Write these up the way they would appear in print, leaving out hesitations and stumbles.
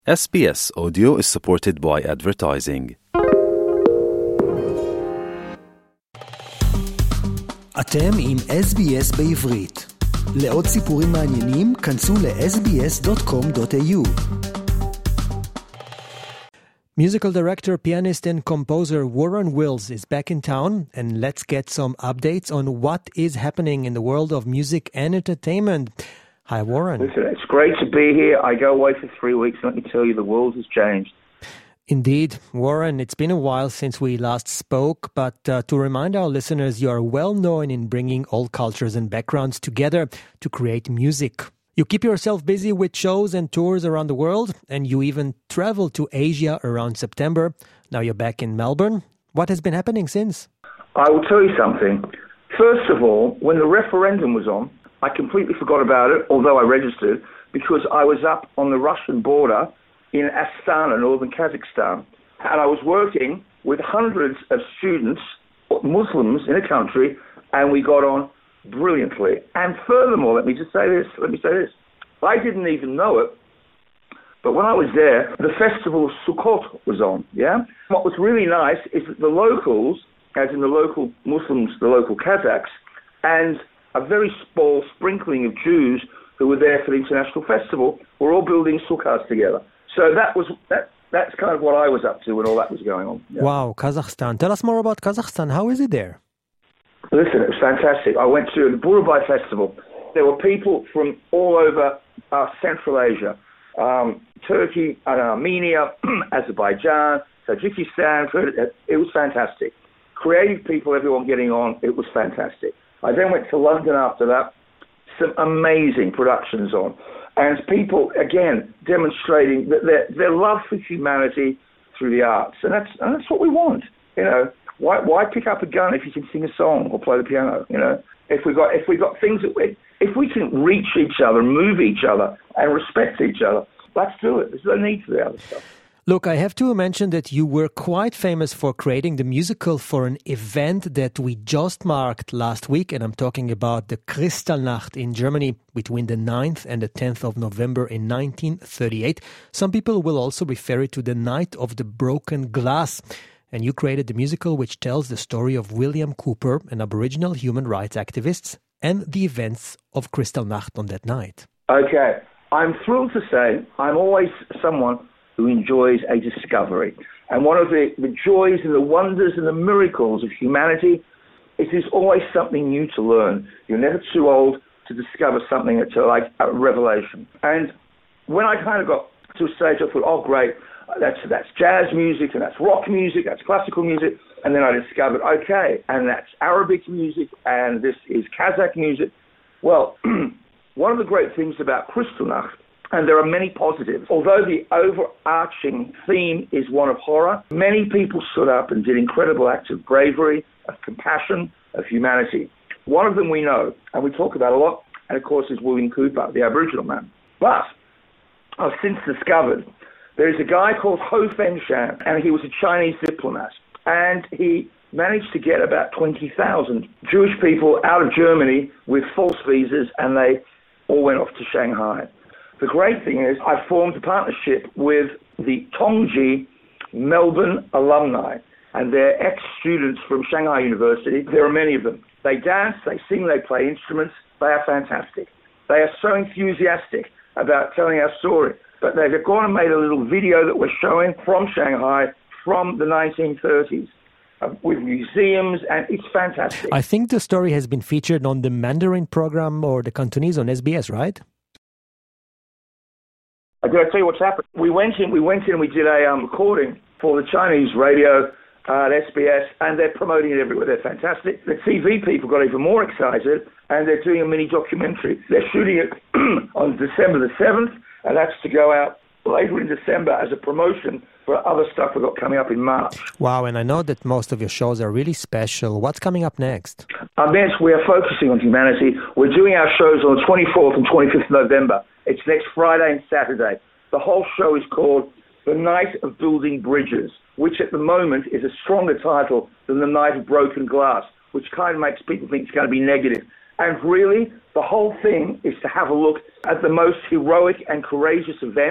SBS Audio is supported by advertising. אתם עם SBS בעברית. לעוד סיפורים מעניינים, כנסו ל-sbs.com.au. Musical director, pianist and composer Warren Wills is back in town, and let's get some updates on what is happening in the world of music and entertainment. Hi, Warren. Listen, it's great to be here. I go away for 3 weeks, and let me tell you, the world has changed. Indeed. Warren, it's been a while since we last spoke, but to remind our listeners, you are well known in bringing all cultures and backgrounds together to create music. You keep yourself busy with shows and tours around the world, and you even travel to Asia around September. Now you're back in Melbourne. What has been happening since? I will tell you something. First of all, when the referendum was on, I completely forgot about it, although I registered, because I was up on the Russian border in Astana, northern Kazakhstan. And I was working with hundreds of students, Muslims in a country, and we got on brilliantly. And furthermore, let me say this. I didn't even know it, but when I was there, the festival of Sukkot was on, yeah? What was really nice is that the locals, as in the local Muslims, the local Kazakhs, and a very small sprinkling of Jews who were there for the international festival, were all building sukkahs together. So that's kind of what I was up to when all that was going on. Yeah. Wow, Kazakhstan. Tell us more about Kazakhstan. How is it there? Listen, it was fantastic. I went to the Burabay Festival. There were people from all over Central Asia, Turkey, Armenia, Azerbaijan, Tajikistan. It was fantastic. Creative people, everyone getting on. It was fantastic. I then went to London after that. Some amazing productions on. And people, again, demonstrating that their love for humanity through the arts. And that's what we want. You know, why pick up a gun if you can sing a song or play the piano? You know, if we got things that if we can reach each other, move each other, and respect each other, let's do it. There's no need for the other stuff. Look, I have to mention that you were quite famous for creating the musical for an event that we just marked last week, and I'm talking about the Kristallnacht in Germany between the 9th and the 10th of November in 1938. Some people will also refer it to the Night of the Broken Glass. And you created the musical which tells the story of William Cooper, an Aboriginal human rights activist, and the events of Kristallnacht on that night. Okay. I'm thrilled to say I'm always someone who enjoys a discovery. And one of the joys and the wonders and the miracles of humanity is there's always something new to learn. You're never too old to discover something that's like a revelation. And when I kind of got to a stage, I thought, oh, great, that's jazz music, and that's rock music, that's classical music. And then I discovered, okay, and that's Arabic music, and this is Kazakh music. Well, one of the great things about Kristallnacht, and there are many positives. Although the overarching theme is one of horror, many people stood up and did incredible acts of bravery, of compassion, of humanity. One of them we know, and we talk about a lot, and of course is William Cooper, the Aboriginal man. But I've since discovered there's a guy called Ho Feng Shan, and he was a Chinese diplomat, and he managed to get about 20,000 Jewish people out of Germany with false visas, and they all went off to Shanghai. The great thing is I formed a partnership with the Tongji Melbourne alumni, and they're ex-students from Shanghai University. There are many of them. They dance, they sing, they play instruments. They are fantastic. They are so enthusiastic about telling our story. But they've gone and made a little video that we're showing from Shanghai from the 1930s. With museums, and it's fantastic. I think the story has been featured on the Mandarin program or the Cantonese on SBS, right? Did I tell you what's happened? We went in and we did a recording for the Chinese radio at SBS, and they're promoting it everywhere. They're fantastic. The TV people got even more excited, and they're doing a mini documentary. They're shooting it on December the 7th, and that's to go out later in December as a promotion for other stuff we've got coming up in March. Wow, and I know that most of your shows are really special. What's coming up next? Next, we are focusing on humanity. We're doing our shows on the 24th and 25th of November. It's next Friday and Saturday. The whole show is called The Night of Building Bridges, which at the moment is a stronger title than The Night of Broken Glass, which kind of makes people think it's going to be negative. And really, the whole thing is to have a look at the most heroic and courageous events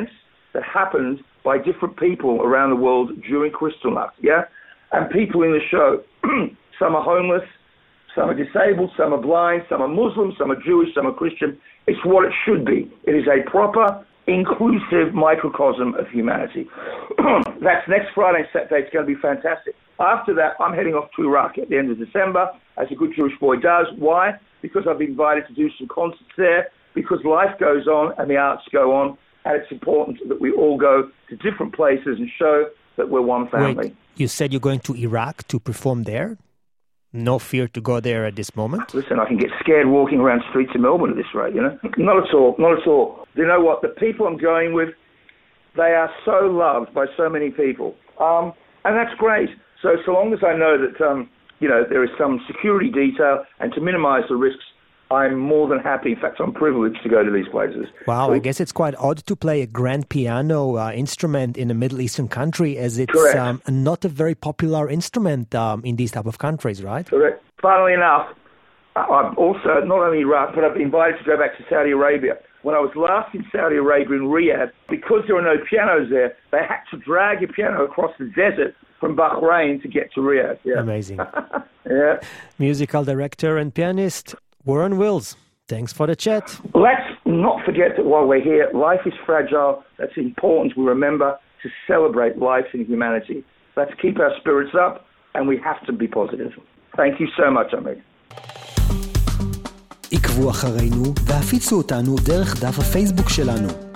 that happens by different people around the world during Kristallnacht, yeah? And people in the show, some are homeless, some are disabled, some are blind, some are Muslim, some are Jewish, some are Christian. It's what it should be. It is a proper, inclusive microcosm of humanity. That's next Friday and Saturday. It's going to be fantastic. After that, I'm heading off to Iraq at the end of December, as a good Jewish boy does. Why? Because I've been invited to do some concerts there, because life goes on and the arts go on, and it's important that we all go to different places and show that we're one family. Wait, you said you're going to Iraq to perform there? No fear to go there at this moment? Listen, I can get scared walking around streets in Melbourne at this rate, you know? Not at all, not at all. You know what? The people I'm going with, they are so loved by so many people. And that's great. So long as I know that, there is some security detail and to minimize the risks, I'm more than happy. In fact, I'm privileged to go to these places. Wow, so, I guess it's quite odd to play a grand piano instrument in a Middle Eastern country, as it's not a very popular instrument in these type of countries, right? Correct. Funnily enough, I've also, not only Iraq, but I've been invited to go back to Saudi Arabia. When I was last in Saudi Arabia in Riyadh, because there are no pianos there, they had to drag a piano across the desert from Bahrain to get to Riyadh. Yeah. Amazing. Yeah. Musical director and pianist Warren Wills, thanks for the chat. Let's not forget that while we're here, life is fragile. That's important. We remember to celebrate life and humanity. Let's keep our spirits up, and we have to be positive. Thank you so much, Amir. עקבו אחרינו והפיצו אותנו דרך דף הפייסבוק שלנו.